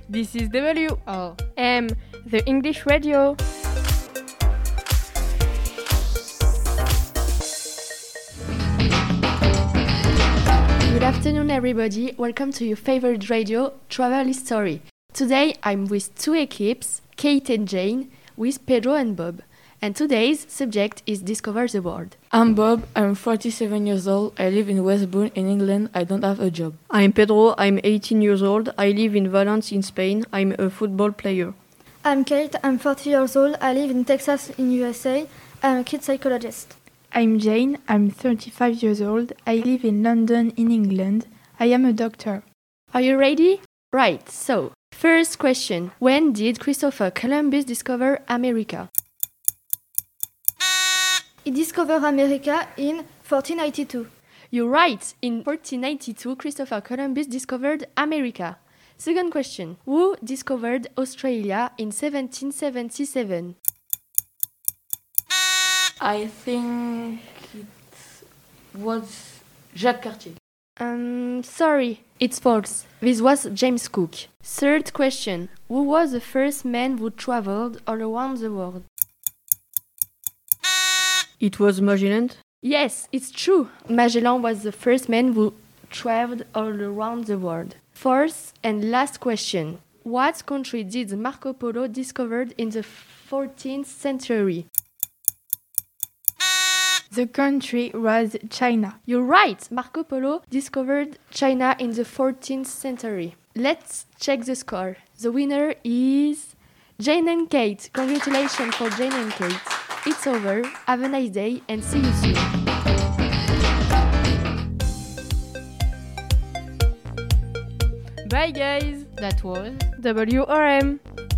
This is WOM, the English radio. Good afternoon, everybody. Welcome to your favorite radio, Travel History. Today, I'm with two equipes, Kate and Jane, with Pedro and Bob. And today's subject is Discover the World. I'm Bob, I'm 47 years old, I live in Westbourne in England, I don't have a job. I'm Pedro, I'm 18 years old, I live in Valence in Spain, I'm a football player. I'm Kate, I'm 40 years old, I live in Texas in USA, I'm a kid psychologist. I'm Jane, I'm 35 years old, I live in London in England, I am a doctor. Are you ready? Right, so, first question, when did Christopher Columbus discover America? He discovered America in 1492. You're right, in 1492 Christopher Columbus discovered America. Second question, who discovered Australia in 1777? I think it was Jacques Cartier. Sorry, it's false. This was James Cook. Third question, who was the first man who traveled all around the world? It was Magellan? Yes, it's true. Magellan was the first man who traveled all around the world. Fourth and last question. What country did Marco Polo discover in the 14th century? The country was China. You're right! Marco Polo discovered China in the 14th century. Let's check the score. The winner is Jane and Kate. Congratulations for Jane and Kate. It's over. Have a nice day and see you soon. Bye guys. That was WOM.